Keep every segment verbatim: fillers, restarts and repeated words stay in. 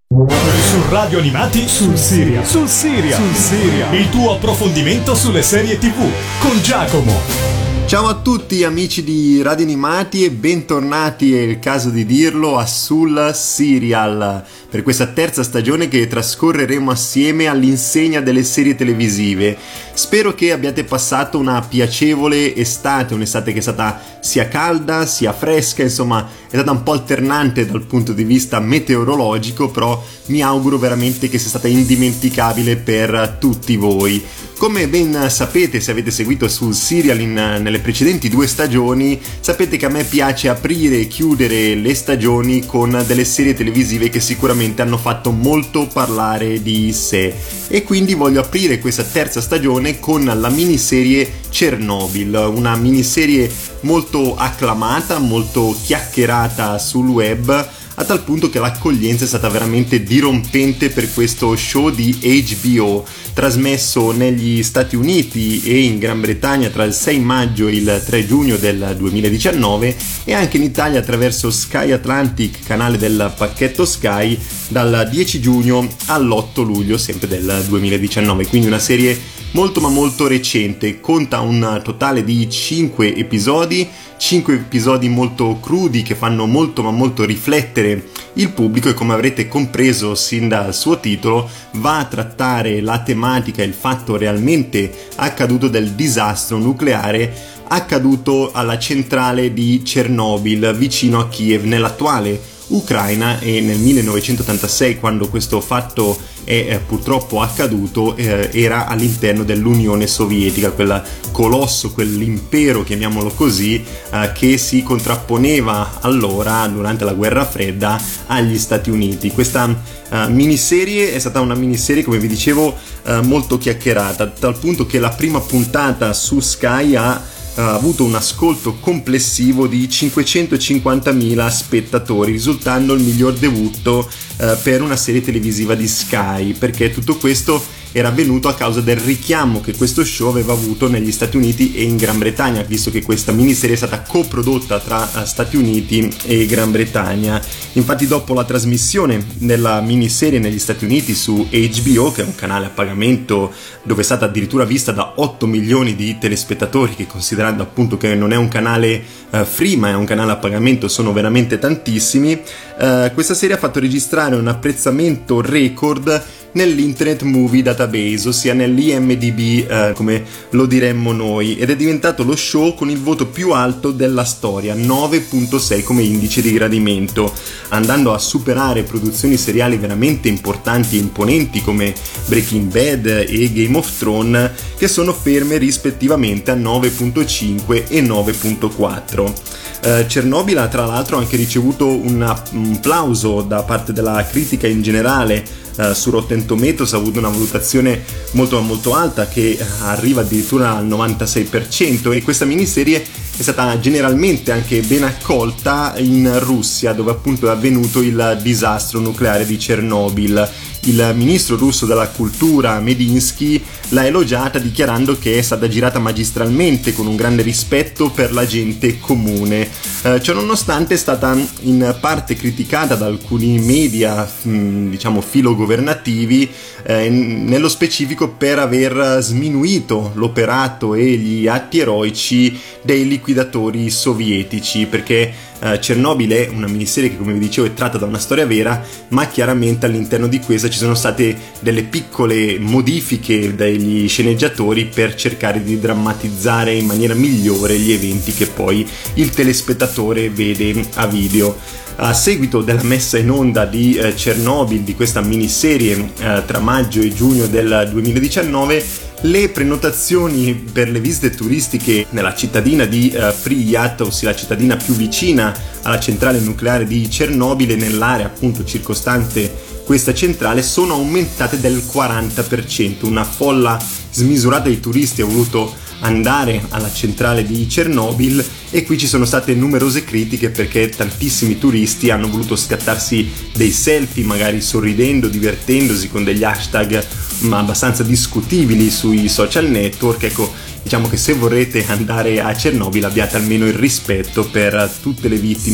Su Radio Animati sul Siria. Sul Siria. Sul Siria. Il tuo approfondimento sulle serie tivù con Giacomo. Ciao a tutti amici di Radio Animati e bentornati, è il caso di dirlo, a Sul Serial per questa terza stagione che trascorreremo assieme all'insegna delle serie televisive. Spero che abbiate passato una piacevole estate, un'estate che è stata sia calda sia fresca, insomma è stata un po' alternante dal punto di vista meteorologico, però mi auguro veramente che sia stata indimenticabile per tutti voi. Come ben sapete, se avete seguito Sul Serial in, nelle precedenti due stagioni, sapete che a me piace aprire e chiudere le stagioni con delle serie televisive che sicuramente hanno fatto molto parlare di sé. E quindi voglio aprire questa terza stagione con la miniserie Chernobyl, una miniserie molto acclamata, molto chiacchierata sul web, a tal punto che l'accoglienza è stata veramente dirompente per questo show di H B O, trasmesso negli Stati Uniti e in Gran Bretagna tra il sei maggio e il tre giugno del duemiladiciannove e anche in Italia attraverso Sky Atlantic, canale del pacchetto Sky, dal dieci giugno all'otto luglio sempre del duemiladiciannove, quindi una serie molto ma molto recente. Conta un totale di cinque episodi, cinque episodi molto crudi che fanno molto ma molto riflettere il pubblico e, come avrete compreso sin dal suo titolo, va a trattare la tematica e il fatto realmente accaduto del disastro nucleare accaduto alla centrale di Chernobyl vicino a Kiev, nell'attuale Ucraina, e nel millenovecentottantasei, quando questo fatto è eh, purtroppo accaduto, eh, era all'interno dell'Unione Sovietica, quel colosso, quell'impero, chiamiamolo così, eh, che si contrapponeva allora, durante la guerra fredda, agli Stati Uniti. Questa eh, miniserie è stata una miniserie, come vi dicevo, eh, molto chiacchierata, a tal punto che la prima puntata su Sky ha ha avuto un ascolto complessivo di cinquecentocinquantamila spettatori, risultando il miglior debutto eh, per una serie televisiva di Sky, perché tutto questo era avvenuto a causa del richiamo che questo show aveva avuto negli Stati Uniti e in Gran Bretagna, visto che questa miniserie è stata coprodotta tra Stati Uniti e Gran Bretagna. Infatti, dopo la trasmissione della miniserie negli Stati Uniti su H B O, che è un canale a pagamento dove è stata addirittura vista da otto milioni di telespettatori, che, considerando appunto che non è un canale uh, free ma è un canale a pagamento, sono veramente tantissimi, uh, questa serie ha fatto registrare un apprezzamento record nell'Internet Movie Database, ossia nell'I M D B eh, come lo diremmo noi, ed è diventato lo show con il voto più alto della storia, nove virgola sei come indice di gradimento, andando a superare produzioni seriali veramente importanti e imponenti come Breaking Bad e Game of Thrones, che sono ferme rispettivamente a nove virgola cinque e nove virgola quattro. Uh, Chernobyl ha tra l'altro anche ricevuto una, un applauso da parte della critica in generale. Uh, su Rotten Tomatoes ha avuto una valutazione molto molto alta, che arriva addirittura al novantasei per cento, e questa miniserie è stata generalmente anche ben accolta in Russia, dove appunto è avvenuto il disastro nucleare di Chernobyl. Il ministro russo della cultura Medinsky l'ha elogiata, dichiarando che è stata girata magistralmente, con un grande rispetto per la gente comune. Eh, ciononostante è stata in parte criticata da alcuni media, mh, diciamo filogovernativi, eh, nello specifico per aver sminuito l'operato e gli atti eroici dei liquidatori sovietici, perché Uh, Chernobyl è una miniserie che, come vi dicevo, è tratta da una storia vera, ma chiaramente all'interno di questa ci sono state delle piccole modifiche dagli sceneggiatori per cercare di drammatizzare in maniera migliore gli eventi che poi il telespettatore vede a video. A seguito della messa in onda di eh, Chernobyl, di questa miniserie eh, tra maggio e giugno del duemiladiciannove, le prenotazioni per le visite turistiche nella cittadina di uh, Pripyat, ossia la cittadina più vicina alla centrale nucleare di Chernobyl e nell'area appunto circostante questa centrale, sono aumentate del quaranta per cento. Una folla smisurata di turisti ha voluto andare alla centrale di Chernobyl, e qui ci sono state numerose critiche perché tantissimi turisti hanno voluto scattarsi dei selfie, magari sorridendo, divertendosi con degli hashtag ma abbastanza discutibili sui social network. Ecco, diciamo che se vorrete andare a Chernobyl abbiate almeno il rispetto per tutte le vittime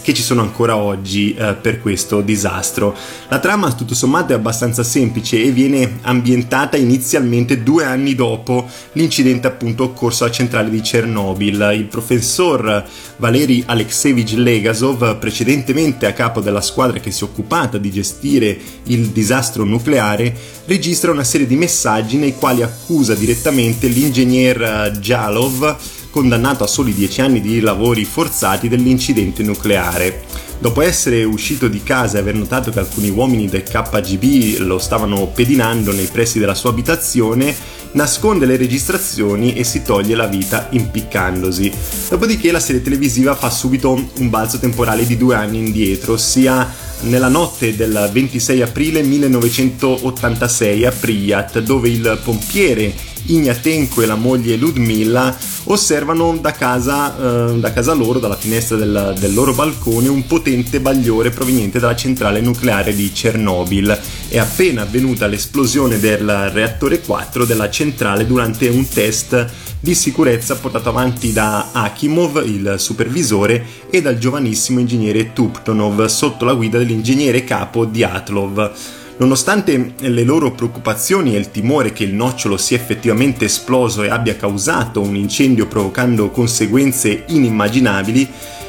che ci sono ancora oggi eh, per questo disastro. La trama tutto sommato è abbastanza semplice e viene ambientata inizialmente due anni dopo l'incidente appunto occorso alla centrale di Chernobyl. Il professor Valery Alexeyevich Legasov, precedentemente a capo della squadra che si è occupata di gestire il disastro nucleare, registra una serie di messaggi nei quali accusa direttamente l'ingegner Jalov, condannato a soli dieci anni di lavori forzati, dell'incidente nucleare. Dopo essere uscito di casa e aver notato che alcuni uomini del K G B lo stavano pedinando nei pressi della sua abitazione, nasconde le registrazioni e si toglie la vita impiccandosi. Dopodiché la serie televisiva fa subito un balzo temporale di due anni indietro, ossia nella notte del ventisei aprile millenovecentottantasei a Pripyat, dove il pompiere Ignatenko e la moglie Ludmila osservano da casa, eh, da casa loro, dalla finestra del, del loro balcone, un potente bagliore proveniente dalla centrale nucleare di Chernobyl. È appena avvenuta l'esplosione del reattore quattro della centrale durante un test di sicurezza portato avanti da Akimov, il supervisore, e dal giovanissimo ingegnere Tuptonov sotto la guida dell'ingegnere capo Dyatlov. Nonostante le loro preoccupazioni e il timore che il nocciolo sia effettivamente esploso e abbia causato un incendio provocando conseguenze inimmaginabili,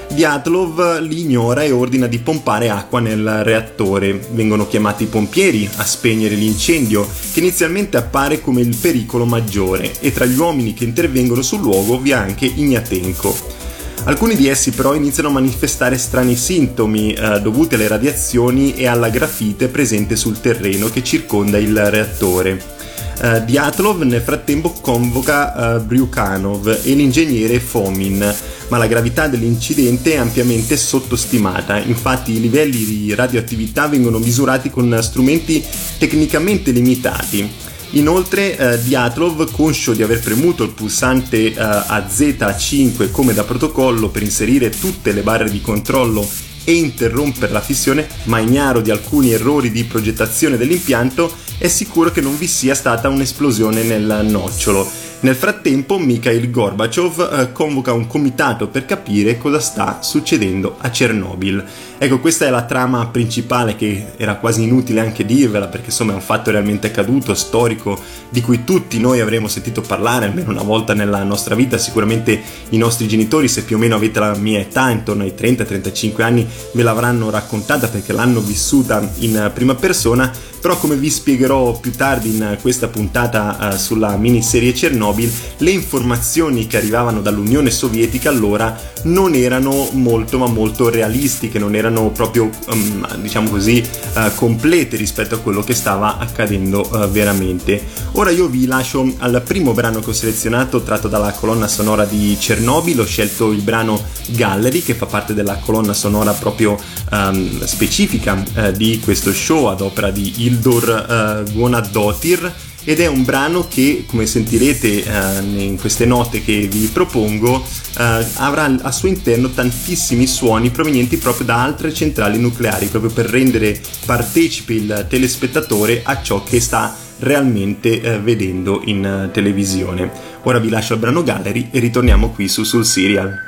Dyatlov li ignora e ordina di pompare acqua nel reattore. Vengono chiamati i pompieri a spegnere l'incendio, che inizialmente appare come il pericolo maggiore, e tra gli uomini che intervengono sul luogo vi è anche Ignatenko. Alcuni di essi però iniziano a manifestare strani sintomi eh, dovuti alle radiazioni e alla grafite presente sul terreno che circonda il reattore. Uh, Dyatlov nel frattempo convoca uh, Bryukhanov e l'ingegnere Fomin, ma la gravità dell'incidente è ampiamente sottostimata. Infatti i livelli di radioattività vengono misurati con strumenti tecnicamente limitati. Inoltre uh, Dyatlov, conscio di aver premuto il pulsante uh, A Z cinque come da protocollo per inserire tutte le barre di controllo e interrompere la fissione, ma ignaro di alcuni errori di progettazione dell'impianto, è sicuro che non vi sia stata un'esplosione nel nocciolo. Nel frattempo Mikhail Gorbachev eh, convoca un comitato per capire cosa sta succedendo a Chernobyl. Ecco, questa è la trama principale, che era quasi inutile anche dirvela, perché insomma è un fatto realmente accaduto, storico, di cui tutti noi avremo sentito parlare almeno una volta nella nostra vita. Sicuramente i nostri genitori, se più o meno avete la mia età, intorno ai trenta trentacinque anni, ve l'avranno raccontata perché l'hanno vissuta in prima persona. Però, come vi spiegherò più tardi in questa puntata uh, sulla miniserie Chernobyl, le informazioni che arrivavano dall'Unione Sovietica allora non erano molto ma molto realistiche, non erano proprio um, diciamo così uh, complete rispetto a quello che stava accadendo uh, veramente. Ora io vi lascio al primo brano che ho selezionato, tratto dalla colonna sonora di Chernobyl. Ho scelto il brano Gallery, che fa parte della colonna sonora proprio um, specifica uh, di questo show ad opera di Ildor uh, Guanadotir, ed è un brano che, come sentirete uh, in queste note che vi propongo, uh, avrà al suo interno tantissimi suoni provenienti proprio da altre centrali nucleari, proprio per rendere partecipe il telespettatore a ciò che sta realmente uh, vedendo in uh, televisione. Ora vi lascio al brano Gallery e ritorniamo qui su Sul Serial.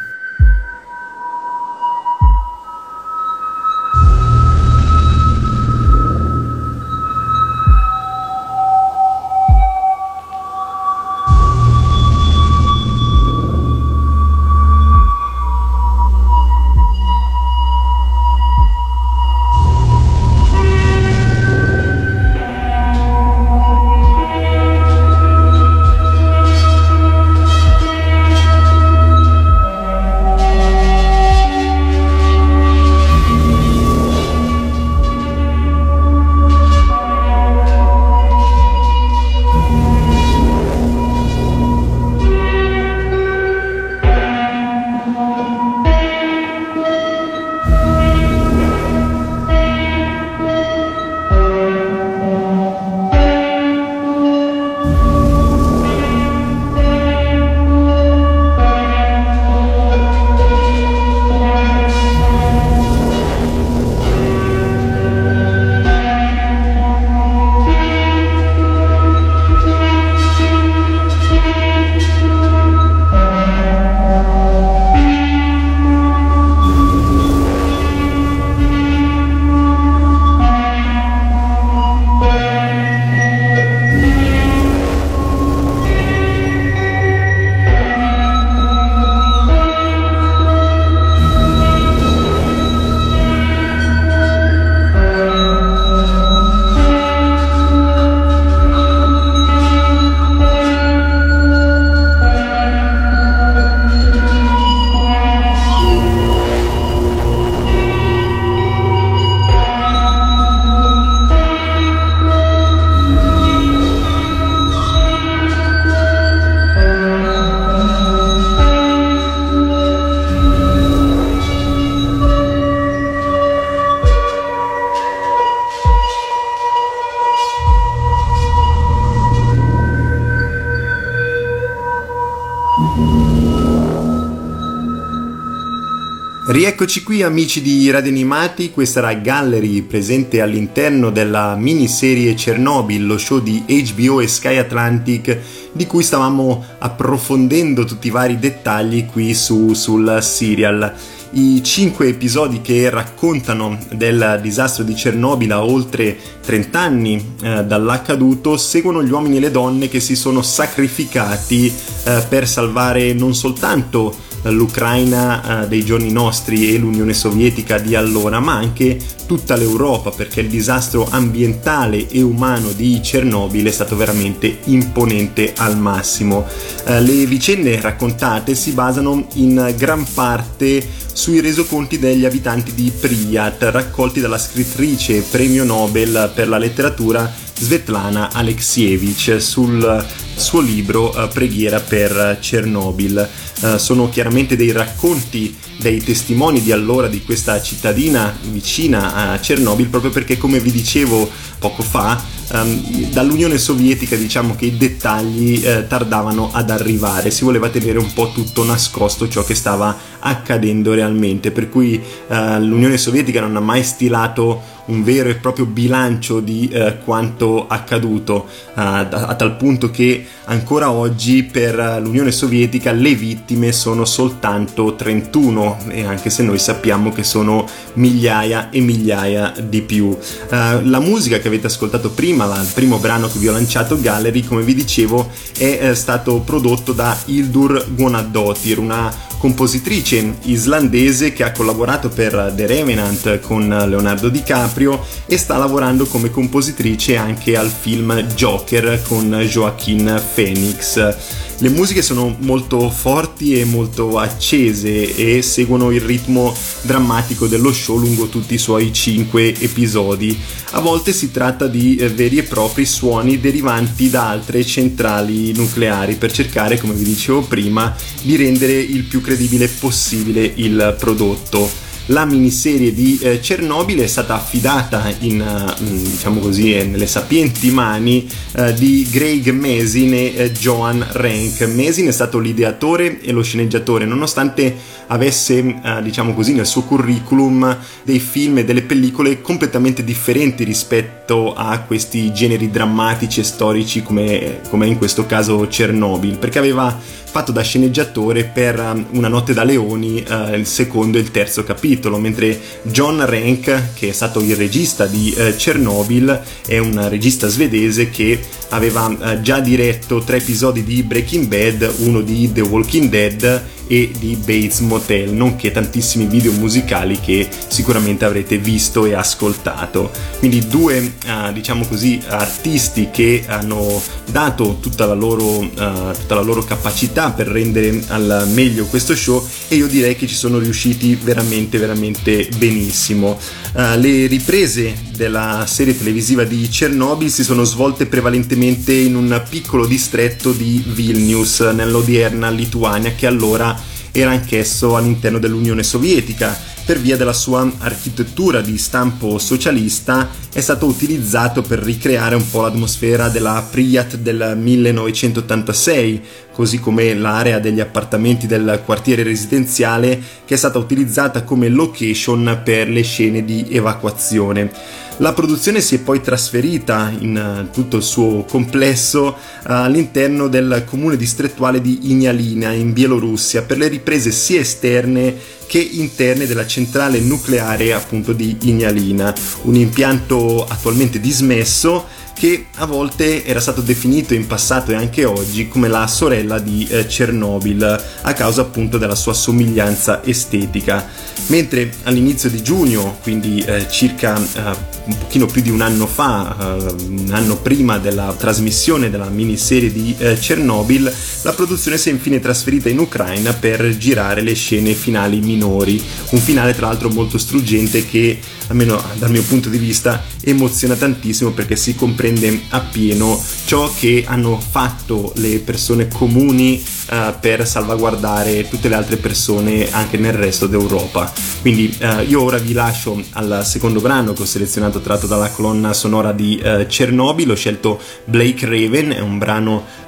Rieccoci qui amici di Radio Animati, questa era Gallery presente all'interno della miniserie Chernobyl, lo show di H B O e Sky Atlantic di cui stavamo approfondendo tutti i vari dettagli qui su, sul serial. I cinque episodi che raccontano del disastro di Chernobyl a oltre trenta anni eh, dall'accaduto seguono gli uomini e le donne che si sono sacrificati eh, per salvare non soltanto l'Ucraina eh, dei giorni nostri e l'Unione Sovietica di allora, ma anche tutta l'Europa, perché il disastro ambientale e umano di Chernobyl è stato veramente imponente al massimo. Eh, le vicende raccontate si basano in gran parte sui resoconti degli abitanti di Pripyat, raccolti dalla scrittrice premio Nobel per la letteratura Svetlana Alexievich sul suo libro uh, Preghiera per Chernobyl. Uh, sono chiaramente dei racconti dei testimoni di allora di questa cittadina vicina a Chernobyl, proprio perché, come vi dicevo poco fa, um, dall'Unione Sovietica diciamo che i dettagli uh, tardavano ad arrivare, si voleva tenere un po' tutto nascosto ciò che stava accadendo realmente, per cui uh, l'Unione Sovietica non ha mai stilato un vero e proprio bilancio di eh, quanto accaduto, uh, a, a tal punto che ancora oggi per l'Unione Sovietica le vittime sono soltanto trentuno, e anche se noi sappiamo che sono migliaia e migliaia di più. Uh, la musica che avete ascoltato prima, la, il primo brano che vi ho lanciato, Gallery, come vi dicevo, è eh, stato prodotto da Hildur Guðnadóttir, una compositrice islandese che ha collaborato per The Revenant con Leonardo DiCaprio e sta lavorando come compositrice anche al film Joker con Joaquin Phoenix. Le musiche sono molto forti e molto accese e seguono il ritmo drammatico dello show lungo tutti i suoi cinque episodi. A volte si tratta di eh, veri e propri suoni derivanti da altre centrali nucleari per cercare, come vi dicevo prima, di rendere il più credibile possibile il prodotto. La miniserie di eh, Chernobyl è stata affidata in, uh, diciamo così, eh, nelle sapienti mani uh, di Craig Mazin e eh, Joan Renck. Mazin è stato l'ideatore e lo sceneggiatore, nonostante avesse, uh, diciamo così, nel suo curriculum dei film e delle pellicole completamente differenti rispetto a questi generi drammatici e storici come, come in questo caso Chernobyl, perché aveva fatto da sceneggiatore per um, Una notte da leoni, uh, il secondo e il terzo capitolo, mentre John Renck, che è stato il regista di uh, Chernobyl, è un regista svedese che aveva uh, già diretto tre episodi di Breaking Bad, uno di The Walking Dead e di Bates Motel, nonché tantissimi video musicali che sicuramente avrete visto e ascoltato. Quindi due uh, diciamo così artisti che hanno dato tutta la loro uh, tutta la loro capacità per rendere al meglio questo show, e io direi che ci sono riusciti veramente veramente benissimo. Uh, le riprese della serie televisiva di Chernobyl si sono svolte prevalentemente in un piccolo distretto di Vilnius, nell'odierna Lituania, che allora era anch'esso all'interno dell'Unione Sovietica. Per via della sua architettura di stampo socialista è stato utilizzato per ricreare un po' l'atmosfera della Pripyat del millenovecentottantasei, così come l'area degli appartamenti del quartiere residenziale, che è stata utilizzata come location per le scene di evacuazione. La produzione si è poi trasferita in tutto il suo complesso all'interno del comune distrettuale di Ignalina in Bielorussia per le riprese sia esterne che interne della centrale nucleare appunto di Ignalina, un impianto attualmente dismesso che a volte era stato definito in passato e anche oggi come la sorella di eh, Chernobyl a causa appunto della sua somiglianza estetica. Mentre all'inizio di giugno, quindi eh, circa eh, un pochino più di un anno fa, eh, un anno prima della trasmissione della miniserie di eh, Chernobyl, la produzione si è infine trasferita in Ucraina per girare le scene finali minori, un finale tra l'altro molto struggente che, almeno dal mio punto di vista, emoziona tantissimo perché si comprende appieno ciò che hanno fatto le persone comuni uh, per salvaguardare tutte le altre persone anche nel resto d'Europa. Quindi uh, io ora vi lascio al secondo brano che ho selezionato tratto dalla colonna sonora di uh, Chernobyl. Ho scelto Blake Raven, è un brano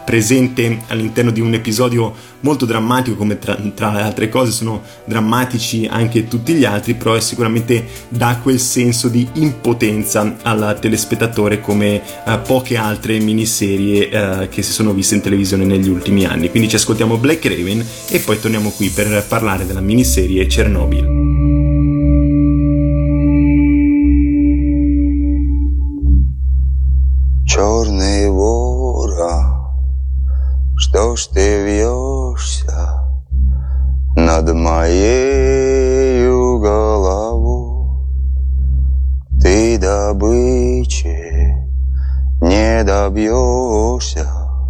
presente all'interno di un episodio molto drammatico, come tra, tra le altre cose sono drammatici anche tutti gli altri, però è sicuramente dà quel senso di impotenza al telespettatore come uh, poche altre miniserie uh, che si sono viste in televisione negli ultimi anni. Quindi ci ascoltiamo Black Raven e poi torniamo qui per parlare della miniserie Chernobyl. Черный вора, что ж ты вьешься над моею головой? Ты добычи не добьешься,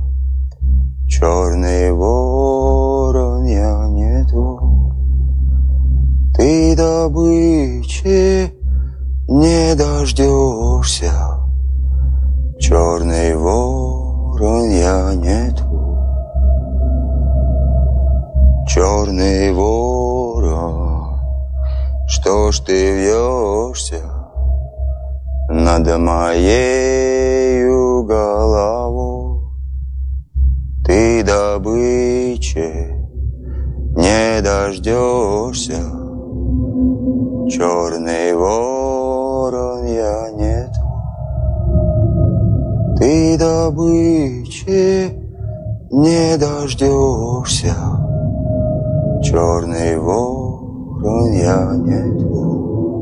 черный ворон, я не твой. Ты добычи не дождешься, черный ворон, я не твой. Черный ворон, что ж ты вьешься над моею головой? Ты добычи не дождешься, черный ворон, я не твой. Ты добычи не дождешься, черный ворон, я не твой.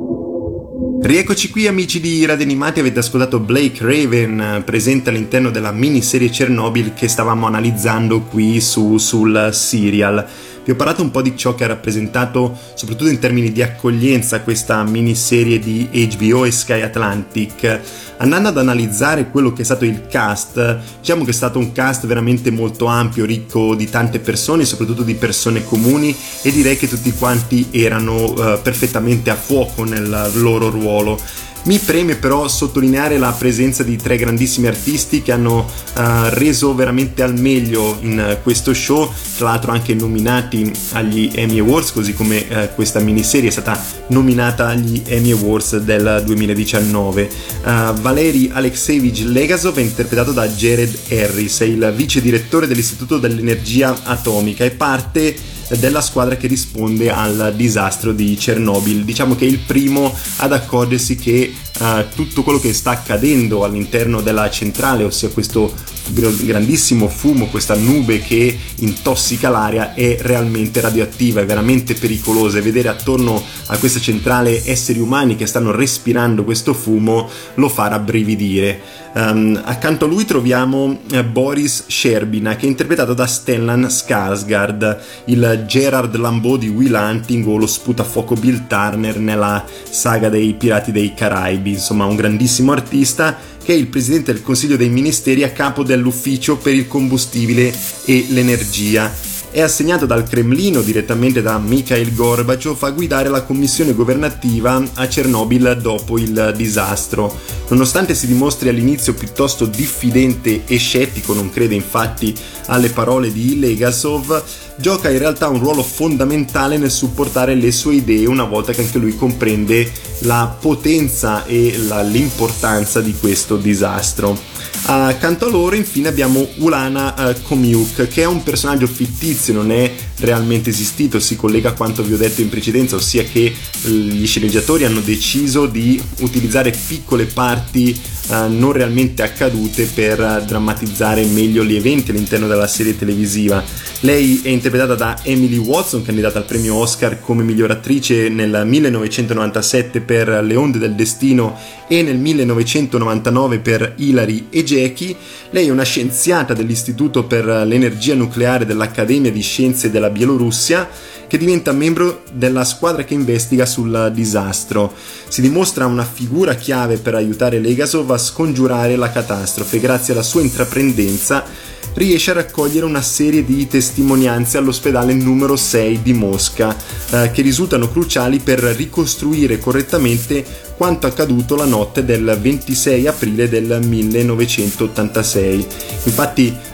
Rieccoci qui amici di Radio Animati, avete ascoltato Blake Raven presente all'interno della miniserie Chernobyl che stavamo analizzando qui su, sul serial. Vi ho parlato un po' di ciò che ha rappresentato, soprattutto in termini di accoglienza, questa miniserie di H B O e Sky Atlantic. Andando ad analizzare quello che è stato il cast, diciamo che è stato un cast veramente molto ampio, ricco di tante persone, soprattutto di persone comuni, e direi che tutti quanti erano uh, perfettamente a fuoco nel loro ruolo. Mi preme però sottolineare la presenza di tre grandissimi artisti che hanno uh, reso veramente al meglio in uh, questo show, tra l'altro anche nominati agli Emmy Awards, così come uh, questa miniserie è stata nominata agli Emmy Awards del duemiladiciannove. Uh, Valery Alexeyevich Legasov è interpretato da Jared Harris, è il vice direttore dell'Istituto dell'Energia Atomica e parte della squadra che risponde al disastro di Chernobyl. Diciamo che è il primo ad accorgersi che uh, tutto quello che sta accadendo all'interno della centrale, ossia questo grandissimo fumo, questa nube che intossica l'aria, è realmente radioattiva, è veramente pericolosa, e vedere attorno a questa centrale esseri umani che stanno respirando questo fumo lo fa rabbrividire. Um, accanto a lui troviamo uh, Boris Sherbina, che è interpretato da Stellan Skarsgård, il Gerard Lambeau di Will Hunting o lo sputafuoco Bill Turner nella saga dei Pirati dei Caraibi. Insomma, un grandissimo artista che è il presidente del Consiglio dei Ministeri a capo dell'Ufficio per il combustibile e l'energia. È assegnato dal Cremlino direttamente da Mikhail Gorbaciov a guidare la commissione governativa a Chernobyl dopo il disastro. Nonostante si dimostri all'inizio piuttosto diffidente e scettico, non crede infatti alle parole di Legasov, gioca in realtà un ruolo fondamentale nel supportare le sue idee una volta che anche lui comprende la potenza e la, l'importanza di questo disastro. Accanto a loro infine abbiamo Ulana uh, Komiuk, che è un personaggio fittizio, non è realmente esistito, si collega a quanto vi ho detto in precedenza, ossia che gli sceneggiatori hanno deciso di utilizzare piccole parti uh, non realmente accadute per uh, drammatizzare meglio gli eventi all'interno della serie televisiva. Lei è interpretata da Emily Watson, candidata al premio Oscar come miglior attrice nel millenovecentonovantasette per Le onde del destino e nel millenovecentonovantanove per Hilary e Jackie. Lei è una scienziata dell'Istituto per l'Energia Nucleare dell'Accademia di Scienze della Bielorussia, che diventa membro della squadra che investiga sul disastro. Si dimostra una figura chiave per aiutare Legasov a scongiurare la catastrofe. Grazie alla sua intraprendenza riesce a raccogliere una serie di testimonianze all'ospedale numero sei di Mosca, eh, che risultano cruciali per ricostruire correttamente quanto accaduto la notte del ventisei aprile del millenovecentottantasei. Infatti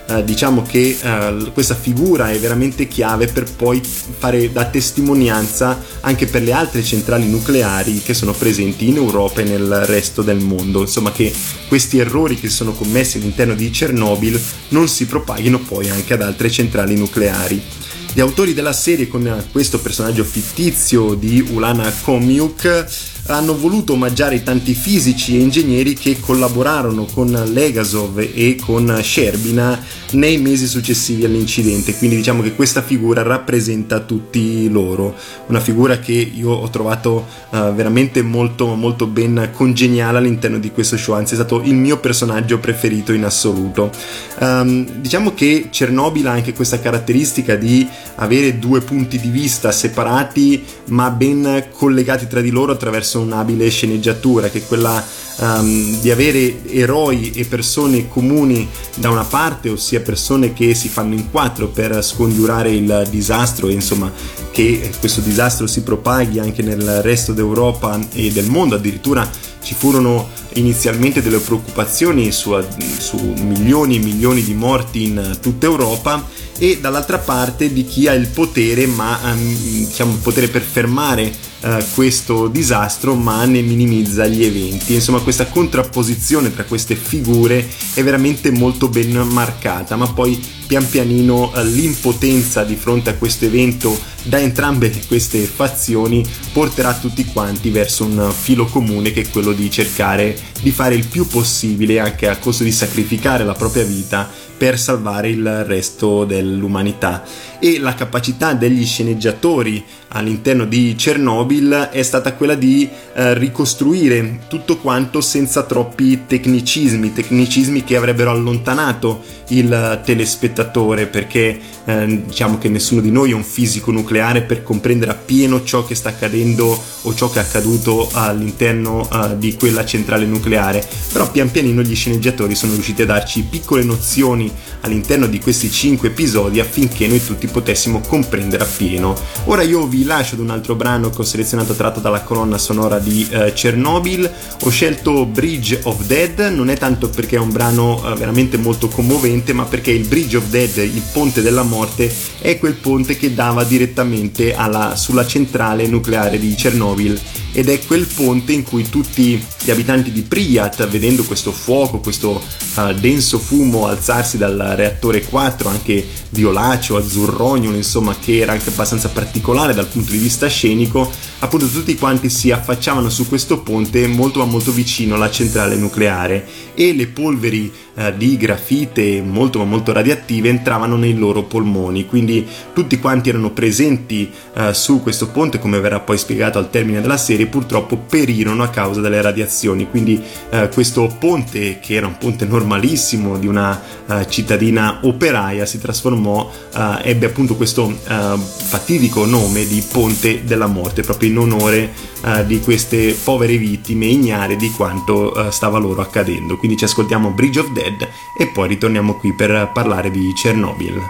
eh, diciamo che eh, questa figura è veramente chiave per poi fare da testimonianza anche per le altre centrali nucleari che sono presenti in Europa e nel resto del mondo, insomma che questi errori che sono commessi all'interno di Chernobyl non si propaghino poi anche ad altre centrali nucleari. Gli autori della serie, con questo personaggio fittizio di Ulana Komiuk, hanno voluto omaggiare i tanti fisici e ingegneri che collaborarono con Legasov e con Sherbina nei mesi successivi all'incidente, quindi diciamo che questa figura rappresenta tutti loro, una figura che io ho trovato uh, veramente molto molto ben congeniale all'interno di questo show, anzi è stato il mio personaggio preferito in assoluto. Um, diciamo che Chernobyl ha anche questa caratteristica di avere due punti di vista separati ma ben collegati tra di loro attraverso un'abile sceneggiatura, che è quella um, di avere eroi e persone comuni da una parte, ossia persone che si fanno in quattro per scongiurare il disastro e insomma che questo disastro si propaghi anche nel resto d'Europa e del mondo. Addirittura ci furono inizialmente delle preoccupazioni su, su milioni e milioni di morti in tutta Europa, e dall'altra parte di chi ha il potere, ma um, diciamo il potere per fermare Uh, questo disastro ma ne minimizza gli eventi. Insomma, questa contrapposizione tra queste figure è veramente molto ben marcata, ma poi pian pianino uh, l'impotenza di fronte a questo evento da entrambe queste fazioni porterà tutti quanti verso un filo comune, che è quello di cercare di fare il più possibile, anche a costo di sacrificare la propria vita, per salvare il resto dell'umanità. E la capacità degli sceneggiatori all'interno di Chernobyl è stata quella di eh, ricostruire tutto quanto senza troppi tecnicismi, tecnicismi che avrebbero allontanato il telespettatore, perché eh, diciamo che nessuno di noi è un fisico nucleare per comprendere appieno ciò che sta accadendo o ciò che è accaduto all'interno eh, di quella centrale nucleare, però pian pianino gli sceneggiatori sono riusciti a darci piccole nozioni all'interno di questi cinque episodi affinché noi tutti potessimo comprendere appieno. Ora io vi lascio ad un altro brano che ho selezionato tratto dalla colonna sonora di uh, Chernobyl. Ho scelto Bridge of Dead, non è tanto perché è un brano uh, veramente molto commovente, ma perché il Bridge of Dead, il ponte della morte, è quel ponte che dava direttamente alla, sulla centrale nucleare di Chernobyl, ed è quel ponte in cui tutti gli abitanti di Pripyat, vedendo questo fuoco, questo uh, denso fumo alzarsi dal reattore quattro, anche violaceo, azzurrognolo, insomma, che era anche abbastanza particolare dal punto di vista scenico, appunto tutti quanti si affacciavano su questo ponte molto ma molto vicino alla centrale nucleare, e le polveri eh, di grafite molto ma molto radioattive entravano nei loro polmoni, quindi tutti quanti erano presenti eh, su questo ponte, come verrà poi spiegato al termine della serie, purtroppo perirono a causa delle radiazioni. Quindi eh, questo ponte, che era un ponte normalissimo di una uh, cittadina operaia, si trasformò, uh, ebbe appunto questo uh, fatidico nome di Ponte della Morte, proprio in onore uh, di queste povere vittime, ignare di quanto uh, stava loro accadendo. Quindi ci ascoltiamo Bridge of Dead e poi ritorniamo qui per parlare di Chernobyl.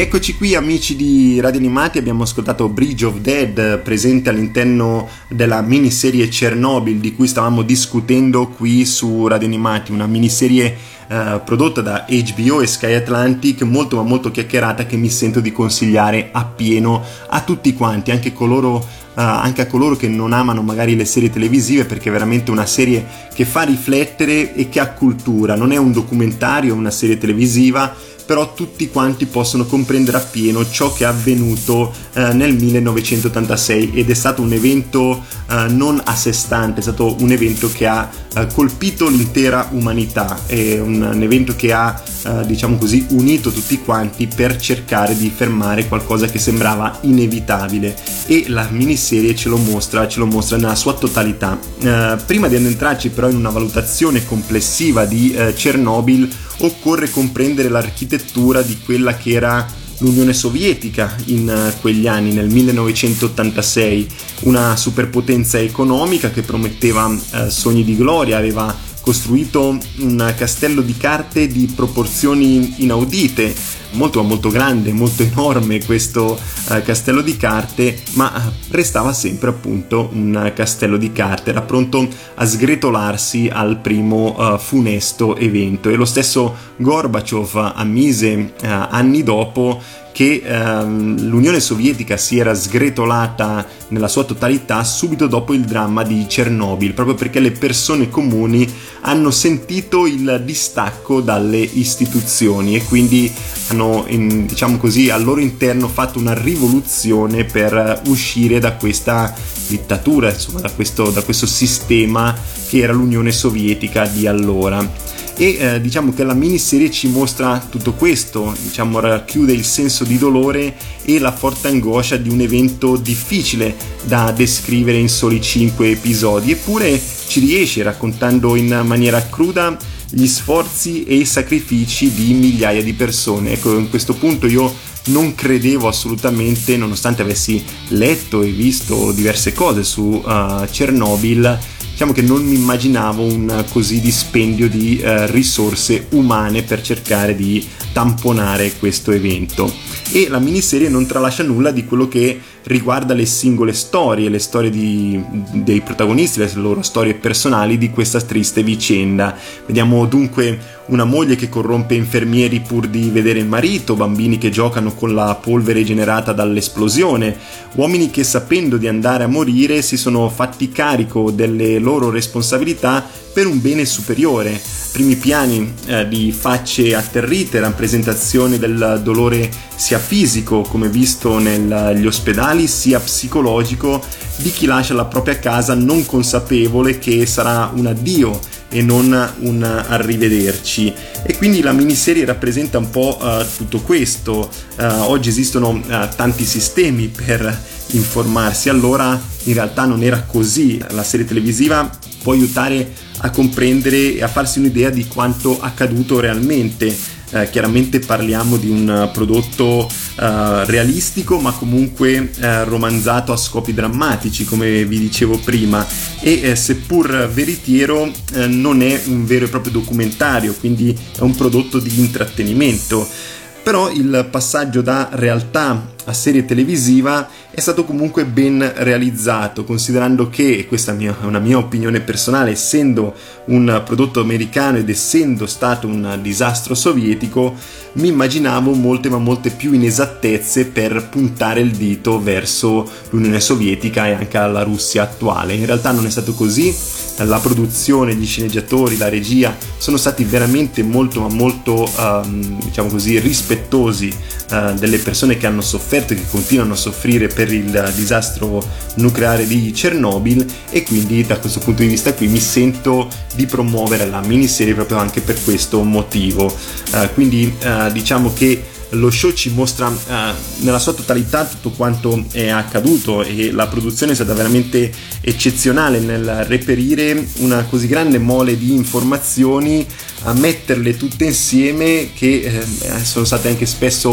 Rieccoci qui amici di Radio Animati, abbiamo ascoltato Bridge of Dead, presente all'interno della miniserie Chernobyl di cui stavamo discutendo qui su Radio Animati, una miniserie eh, prodotta da H B O e Sky Atlantic, molto ma molto chiacchierata, che mi sento di consigliare appieno a tutti quanti, anche coloro Uh, anche a coloro che non amano magari le serie televisive, perché è veramente una serie che fa riflettere e che ha cultura. Non è un documentario, è una serie televisiva, però tutti quanti possono comprendere appieno ciò che è avvenuto uh, nel millenovecentottantasei, ed è stato un evento uh, non a sé stante, è stato un evento che ha uh, colpito l'intera umanità, è un, un evento che ha uh, diciamo così unito tutti quanti per cercare di fermare qualcosa che sembrava inevitabile, e la miniserie ce lo mostra, ce lo mostra nella sua totalità. Uh, prima di addentrarci però in una valutazione complessiva di uh, Chernobyl, occorre comprendere l'architettura di quella che era l'Unione Sovietica in uh, quegli anni, nel millenovecentottantasei, una superpotenza economica che prometteva uh, sogni di gloria, aveva costruito un castello di carte di proporzioni inaudite, molto molto grande, molto enorme questo uh, castello di carte, ma restava sempre appunto un castello di carte, era pronto a sgretolarsi al primo uh, funesto evento. E lo stesso Gorbaciov ammise uh, anni dopo che ehm, l'Unione Sovietica si era sgretolata nella sua totalità subito dopo il dramma di Chernobyl, proprio perché le persone comuni hanno sentito il distacco dalle istituzioni e quindi hanno, in, diciamo così, al loro interno fatto una rivoluzione per uscire da questa dittatura, insomma, da questo, da questo sistema che era l'Unione Sovietica di allora. E eh, diciamo che la miniserie ci mostra tutto questo, diciamo racchiude il senso di dolore e la forte angoscia di un evento difficile da descrivere in soli cinque episodi, eppure ci riesce raccontando in maniera cruda gli sforzi e i sacrifici di migliaia di persone. Ecco, in questo punto io non credevo assolutamente, nonostante avessi letto e visto diverse cose su uh, Chernobyl, diciamo che non mi immaginavo un così dispendio di uh, risorse umane per cercare di tamponare questo evento. E la miniserie non tralascia nulla di quello che riguarda le singole storie, le storie di, dei protagonisti, le loro storie personali di questa triste vicenda. Vediamo dunque una moglie che corrompe infermieri pur di vedere il marito, bambini che giocano con la polvere generata dall'esplosione, uomini che, sapendo di andare a morire, si sono fatti carico delle loro responsabilità per un bene superiore. Primi piani eh, di facce atterrite, rappresentazione del dolore sia fisico, come visto negli ospedali, sia psicologico di chi lascia la propria casa non consapevole che sarà un addio e non un arrivederci. E quindi la miniserie rappresenta un po' uh, tutto questo. Uh, oggi esistono uh, tanti sistemi per informarsi, allora in realtà non era così. La serie televisiva può aiutare a comprendere e a farsi un'idea di quanto accaduto realmente. Eh, chiaramente parliamo di un prodotto eh, realistico, ma comunque eh, romanzato a scopi drammatici, come vi dicevo prima, e eh, seppur veritiero eh, non è un vero e proprio documentario, quindi è un prodotto di intrattenimento. Però il passaggio da realtà a serie televisiva è stato comunque ben realizzato, considerando che, e questa è una mia opinione personale, essendo un prodotto americano ed essendo stato un disastro sovietico, mi immaginavo molte ma molte più inesattezze per puntare il dito verso l'Unione Sovietica e anche alla Russia attuale. In realtà non è stato così. La produzione, gli sceneggiatori, la regia sono stati veramente molto ma molto um, diciamo così rispettosi uh, delle persone che hanno sofferto e che continuano a soffrire per il disastro nucleare di Chernobyl, e quindi da questo punto di vista qui mi sento di promuovere la miniserie proprio anche per questo motivo. Uh, quindi uh, diciamo che lo show ci mostra uh, nella sua totalità tutto quanto è accaduto, e la produzione è stata veramente eccezionale nel reperire una così grande mole di informazioni, a metterle tutte insieme, che eh, sono state anche spesso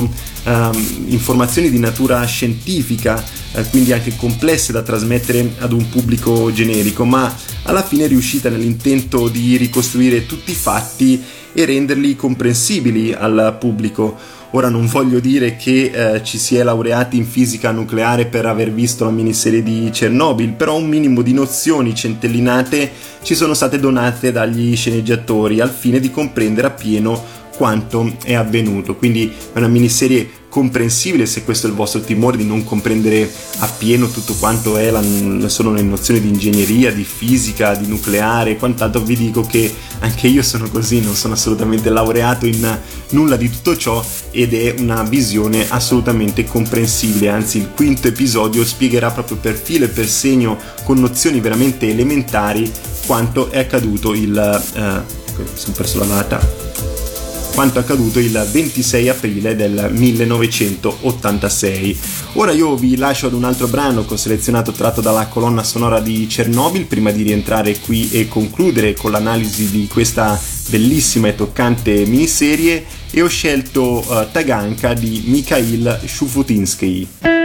um, informazioni di natura scientifica, eh, quindi anche complesse da trasmettere ad un pubblico generico, ma alla fine è riuscita nell'intento di ricostruire tutti i fatti e renderli comprensibili al pubblico. Ora non voglio dire che eh, ci si è laureati in fisica nucleare per aver visto la miniserie di Chernobyl, però un minimo di nozioni centellinate ci sono state donate dagli sceneggiatori al fine di comprendere appieno quanto è avvenuto. Quindi è una miniserie comprensibile se questo è il vostro timore di non comprendere appieno tutto quanto è la, sono le nozioni di ingegneria, di fisica, di nucleare e quant'altro. Vi dico che anche io sono così, non sono assolutamente laureato in nulla di tutto ciò ed è una visione assolutamente comprensibile. Anzi, il quinto episodio spiegherà proprio per filo e per segno, con nozioni veramente elementari, quanto è accaduto il eh, ecco, mi sono perso la data quanto accaduto il ventisei aprile del millenovecentottantasei. Ora io vi lascio ad un altro brano che ho selezionato tratto dalla colonna sonora di Chernobyl prima di rientrare qui e concludere con l'analisi di questa bellissima e toccante miniserie, e ho scelto uh, Taganka di Mikhail Shufutinsky.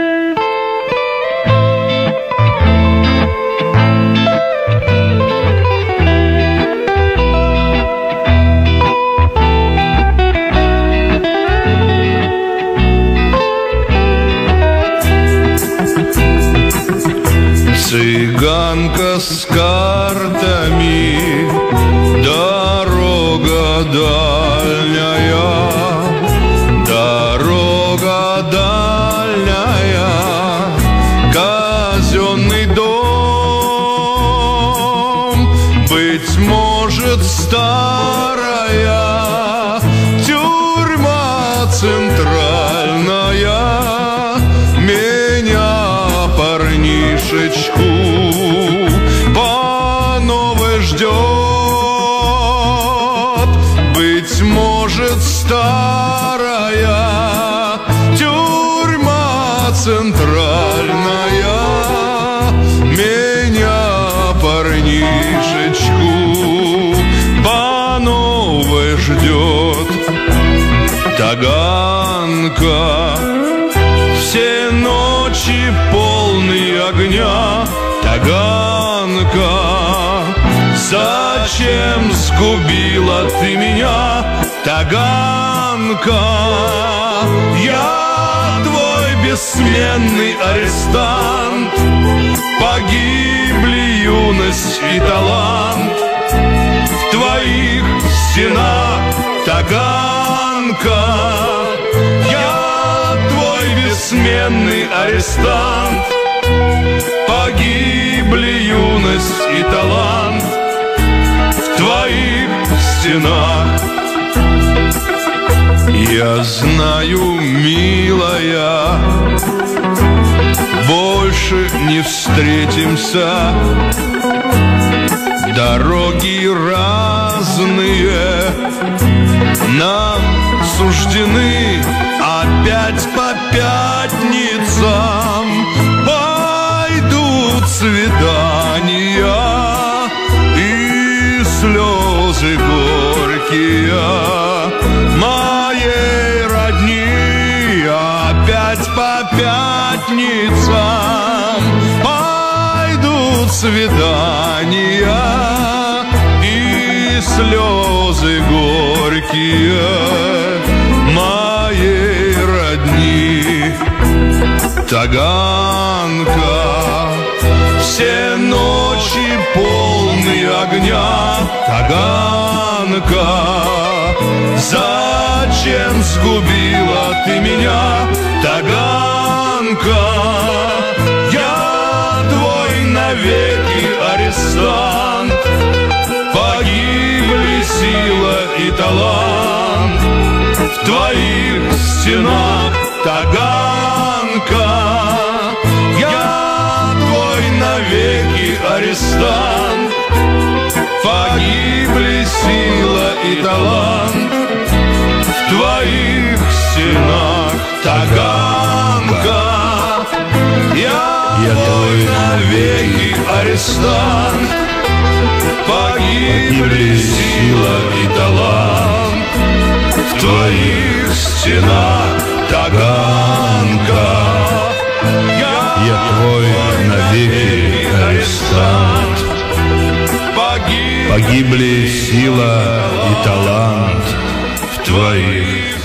Цыганка с картами, дорога дальняя, дорога дальняя, казенный дом, быть может, старая тюрьма центральная, меня, парнишечку, по новой ждет. Быть может, старая тюрьма центральная меня, парнишечку, по новой ждет. Таганка, все ночи полные огня, Таганка, зачем сгубила ты меня, Таганка? Я твой бессменный арестант, погибли юность и талант в твоих стенах, Таганка. Бессменный арестант, погибли юность и талант в твоих стенах. Я знаю, милая, больше не встретимся, дороги разные нам суждены. Опять по пятницам пойдут свидания и слезы горькие моей родни. Опять по пятницам пойдут свидания и слезы горькие моей родни. Таганка, все ночи полные огня, Таганка, зачем сгубила ты меня, Таганка? Я твой навеки арестант, погибли сила и талант в твоих стенах, Таганка. Я твой навеки арестант, погибли сила и талант в твоих стенах, Таганка. Я, Я твой навеки арестант, погибли сила и талант в твоих стенах, Таганка. Я, Я твой навеки арестант, погибли сила и талант в твоих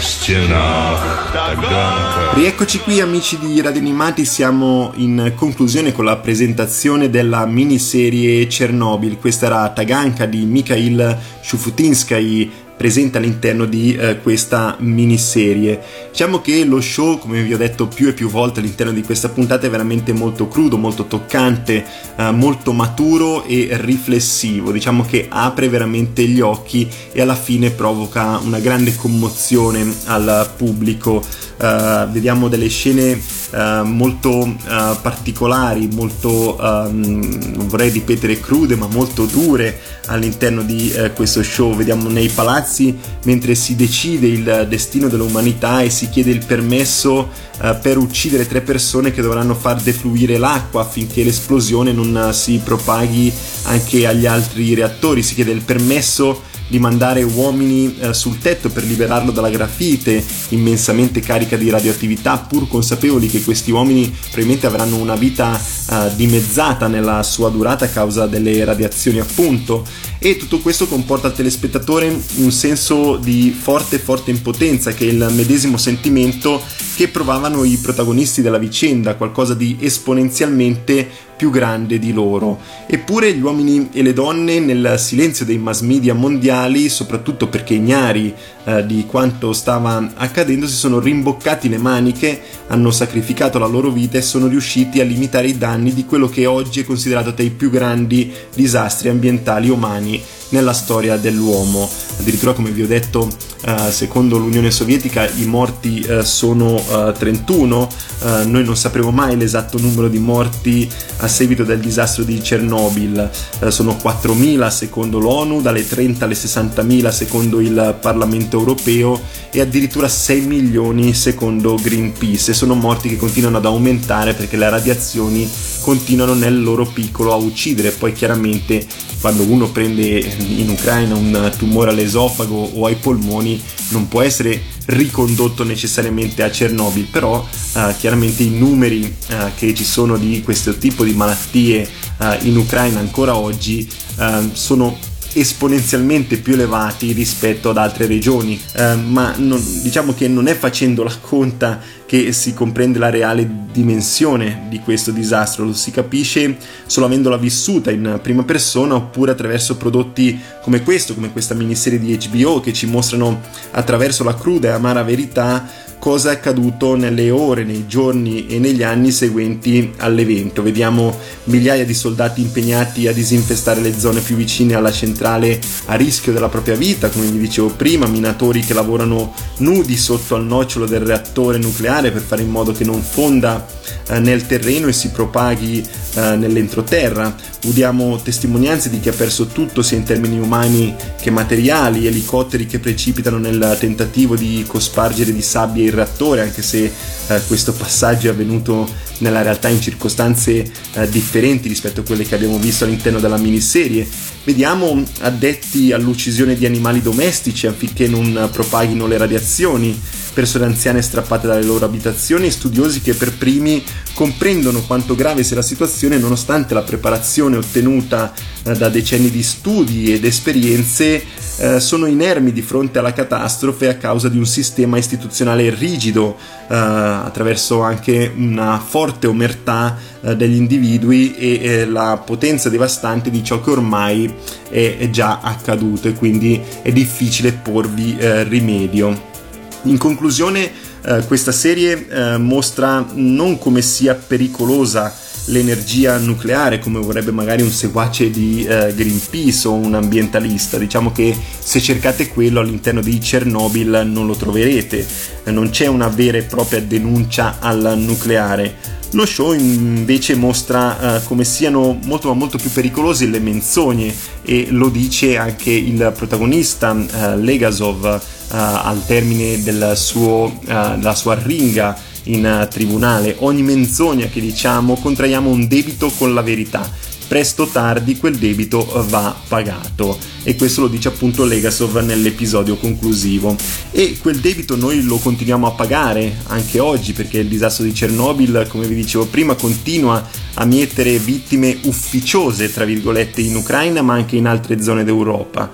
стенах Таганка. Rieccoci qui amici di Radio Animati, siamo in conclusione con la presentazione della miniserie Chernobyl. Questa era Taganka di Mikhail Shufutinsky, presente all'interno di eh, questa miniserie. Diciamo che lo show, come vi ho detto più e più volte all'interno di questa puntata, è veramente molto crudo, molto toccante, eh, molto maturo e riflessivo. Diciamo che apre veramente gli occhi e alla fine provoca una grande commozione al pubblico. Uh, vediamo delle scene uh, molto uh, particolari, molto, um, non vorrei ripetere crude, ma molto dure all'interno di uh, questo show. Vediamo nei palazzi mentre si decide il destino dell'umanità e si chiede il permesso uh, per uccidere tre persone che dovranno far defluire l'acqua affinché l'esplosione non uh, si propaghi anche agli altri reattori. Si chiede il permesso di mandare uomini eh, sul tetto per liberarlo dalla grafite immensamente carica di radioattività, pur consapevoli che questi uomini probabilmente avranno una vita eh, dimezzata nella sua durata a causa delle radiazioni, appunto. E tutto questo comporta al telespettatore un senso di forte forte impotenza, che è il medesimo sentimento che provavano i protagonisti della vicenda, qualcosa di esponenzialmente più grande di loro. Eppure gli uomini e le donne, nel silenzio dei mass media mondiali, soprattutto perché ignari eh, di quanto stava accadendo, si sono rimboccati le maniche, hanno sacrificato la loro vita e sono riusciti a limitare i danni di quello che oggi è considerato tra i più grandi disastri ambientali umani nella storia dell'uomo. Addirittura, come vi ho detto, uh, secondo l'Unione Sovietica i morti uh, sono uh, trentuno, uh, noi non sapremo mai l'esatto numero di morti a seguito del disastro di Chernobyl, uh, sono quattromila secondo l'ONU, dalle trenta alle sessantamila secondo il Parlamento Europeo e addirittura sei milioni secondo Greenpeace, e sono morti che continuano ad aumentare perché le radiazioni continuano nel loro piccolo a uccidere. Poi chiaramente quando uno prende in Ucraina un tumore all'esofago o ai polmoni non può essere ricondotto necessariamente a Chernobyl, però eh, chiaramente i numeri eh, che ci sono di questo tipo di malattie eh, in Ucraina ancora oggi eh, sono esponenzialmente più elevati rispetto ad altre regioni, eh, ma non, diciamo che non è facendo la conta che si comprende la reale dimensione di questo disastro, lo si capisce solo avendola vissuta in prima persona oppure attraverso prodotti come questo, come questa miniserie di H B O, che ci mostrano attraverso la cruda e amara verità cosa è accaduto nelle ore, nei giorni e negli anni seguenti all'evento. Vediamo migliaia di soldati impegnati a disinfestare le zone più vicine alla centrale a rischio della propria vita, come vi dicevo prima, minatori che lavorano nudi sotto al nocciolo del reattore nucleare per fare in modo che non fonda eh, nel terreno e si propaghi eh, nell'entroterra. Udiamo testimonianze di chi ha perso tutto sia in termini umani che materiali, elicotteri che precipitano nel tentativo di cospargere di sabbia il reattore, anche se eh, questo passaggio è avvenuto nella realtà in circostanze eh, differenti rispetto a quelle che abbiamo visto all'interno della miniserie. Vediamo addetti all'uccisione di animali domestici affinché non propaghino le radiazioni, persone anziane strappate dalle loro abitazioni, studiosi che per primi comprendono quanto grave sia la situazione nonostante la preparazione ottenuta eh, da decenni di studi ed esperienze eh, sono inermi di fronte alla catastrofe a causa di un sistema istituzionale rigido, eh, attraverso anche una forte omertà eh, degli individui e eh, la potenza devastante di ciò che ormai è, è già accaduto, e quindi è difficile porvi eh, rimedio. In conclusione, eh, questa serie eh, mostra non come sia pericolosa l'energia nucleare, come vorrebbe magari un seguace di eh, Greenpeace o un ambientalista. Diciamo che se cercate quello all'interno di Chernobyl non lo troverete, eh, non c'è una vera e propria denuncia al nucleare. Lo show invece mostra uh, come siano molto ma molto più pericolose le menzogne, e lo dice anche il protagonista uh, Legasov uh, al termine del suo, uh, della sua arringa in uh, tribunale. Ogni menzogna che diciamo contraiamo un debito con la verità. Presto o tardi quel debito va pagato, e questo lo dice appunto Legasov nell'episodio conclusivo, e quel debito noi lo continuiamo a pagare anche oggi, perché il disastro di Chernobyl, come vi dicevo prima, continua a mietere vittime ufficiose tra virgolette in Ucraina ma anche in altre zone d'Europa.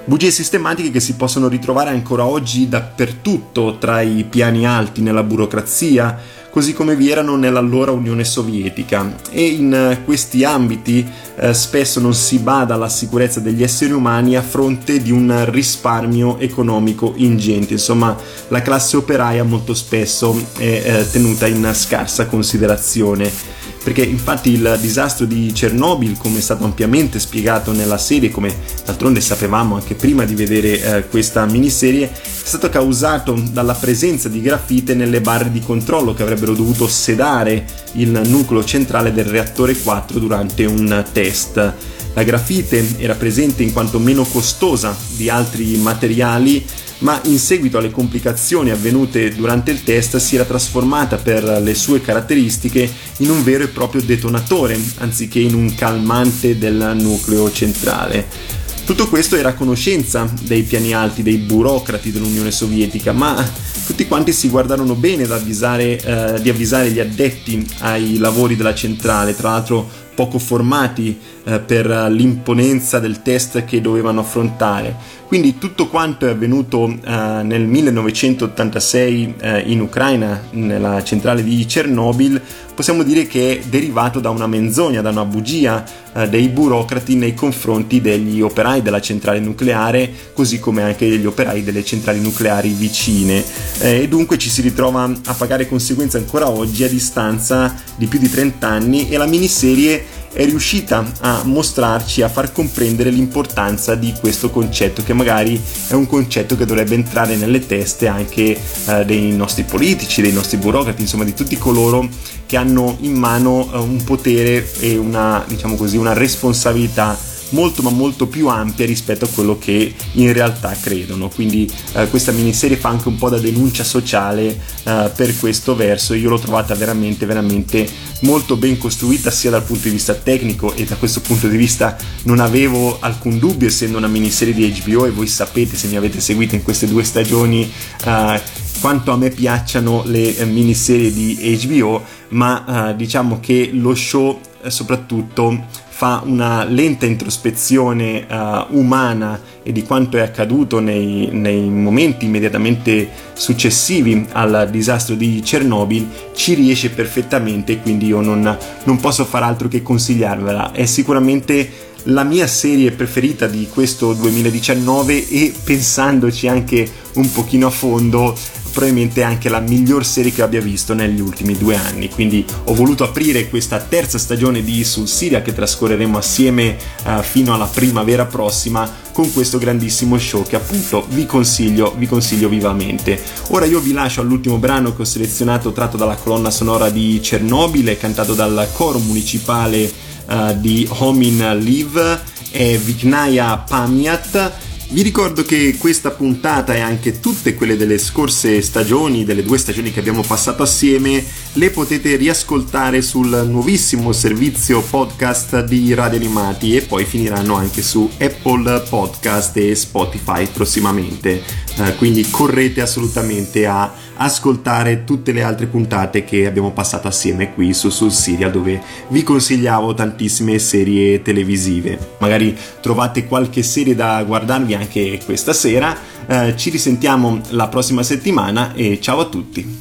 Bugie sistematiche che si possono ritrovare ancora oggi dappertutto, tra i piani alti nella burocrazia, così come vi erano nell'allora Unione Sovietica, e in questi ambiti eh, spesso non si bada alla sicurezza degli esseri umani a fronte di un risparmio economico ingente. Insomma, la classe operaia molto spesso è eh, tenuta in scarsa considerazione, perché infatti il disastro di Chernobyl, come è stato ampiamente spiegato nella serie, come d'altronde sapevamo anche prima di vedere eh, questa miniserie, è stato causato dalla presenza di grafite nelle barre di controllo che avrebbero dovuto sedare il nucleo centrale del reattore quattro durante un test. La grafite era presente in quanto meno costosa di altri materiali, ma in seguito alle complicazioni avvenute durante il test si era trasformata per le sue caratteristiche in un vero e proprio detonatore, anziché in un calmante del nucleo centrale. Tutto questo era a conoscenza dei piani alti, dei burocrati dell'Unione Sovietica, ma tutti quanti si guardarono bene ad avvisare, eh, di avvisare gli addetti ai lavori della centrale, tra l'altro poco formati eh, per l'imponenza del test che dovevano affrontare. Quindi tutto quanto è avvenuto eh, nel millenovecentottantasei eh, in Ucraina, nella centrale di Chernobyl, possiamo dire che è derivato da una menzogna, da una bugia eh, dei burocrati nei confronti degli operai della centrale nucleare, così come anche degli operai delle centrali nucleari vicine. Eh, e dunque ci si ritrova a pagare conseguenze ancora oggi a distanza di più di trenta anni, e la miniserie è riuscita a mostrarci, a far comprendere l'importanza di questo concetto, che magari è un concetto che dovrebbe entrare nelle teste anche eh, dei nostri politici, dei nostri burocrati, insomma di tutti coloro che hanno in mano eh, un potere e una, diciamo così, una responsabilità molto ma molto più ampia rispetto a quello che in realtà credono. Quindi eh, questa miniserie fa anche un po' da denuncia sociale eh, per questo verso. Io l'ho trovata veramente veramente molto ben costruita, sia dal punto di vista tecnico, e da questo punto di vista non avevo alcun dubbio, essendo una miniserie di H B O, e voi sapete, se mi avete seguito in queste due stagioni, eh, quanto a me piacciono le eh, miniserie di H B O, ma eh, diciamo che lo show eh, soprattutto fa una lenta introspezione uh, umana e di quanto è accaduto nei, nei momenti immediatamente successivi al disastro di Chernobyl. Ci riesce perfettamente, quindi io non, non posso far altro che consigliarvela. È sicuramente la mia serie preferita di questo duemiladiciannove, e pensandoci anche un pochino a fondo, probabilmente anche la miglior serie che abbia visto negli ultimi due anni. Quindi ho voluto aprire questa terza stagione di Sul Serial, che trascorreremo assieme uh, fino alla primavera prossima, con questo grandissimo show che appunto vi consiglio, vi consiglio vivamente. Ora io vi lascio all'ultimo brano che ho selezionato, tratto dalla colonna sonora di Chernobyl, cantato dal coro municipale uh, di Homin Liv, e Viknaya Pamyat. Vi ricordo che questa puntata e anche tutte quelle delle scorse stagioni, delle due stagioni che abbiamo passato assieme, le potete riascoltare sul nuovissimo servizio podcast di Radio Animati, e poi finiranno anche su Apple Podcast e Spotify prossimamente. Eh, quindi correte assolutamente a ascoltare tutte le altre puntate che abbiamo passato assieme qui su Sul Serial, dove vi consigliavo tantissime serie televisive. Magari trovate qualche serie da guardarvi anche questa sera. Eh, ci risentiamo la prossima settimana, e ciao a tutti.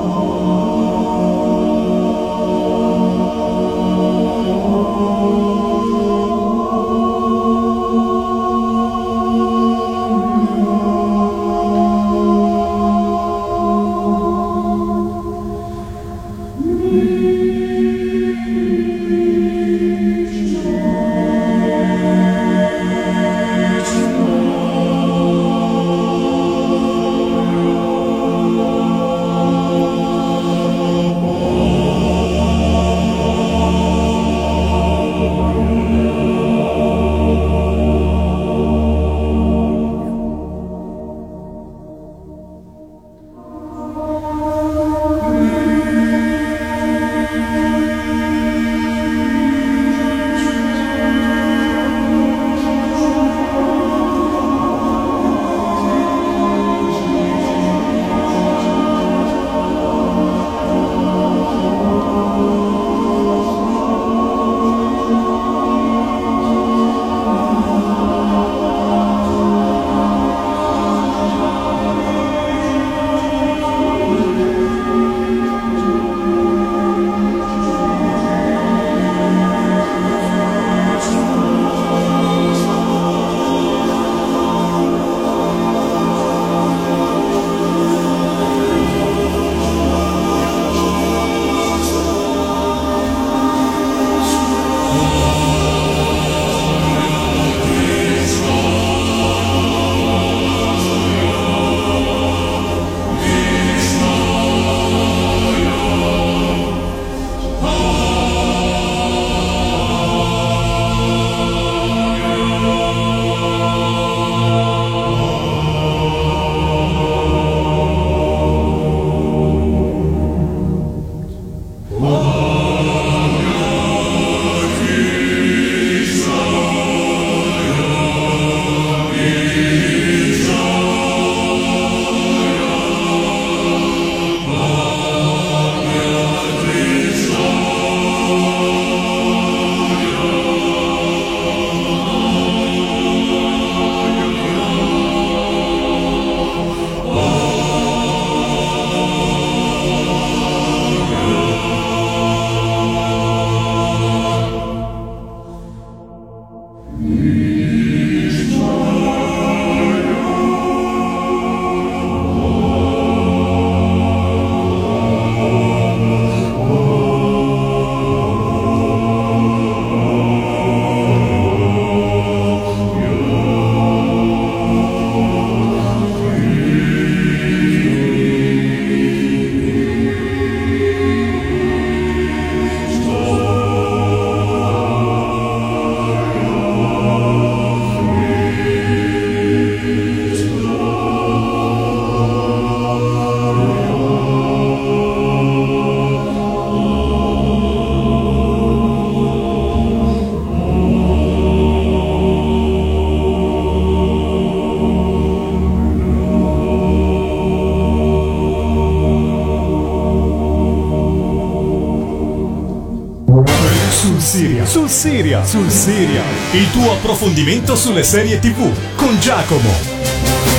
Oh Siria, sul Siria, sul Siria. Il tuo approfondimento sulle serie tivù con Giacomo.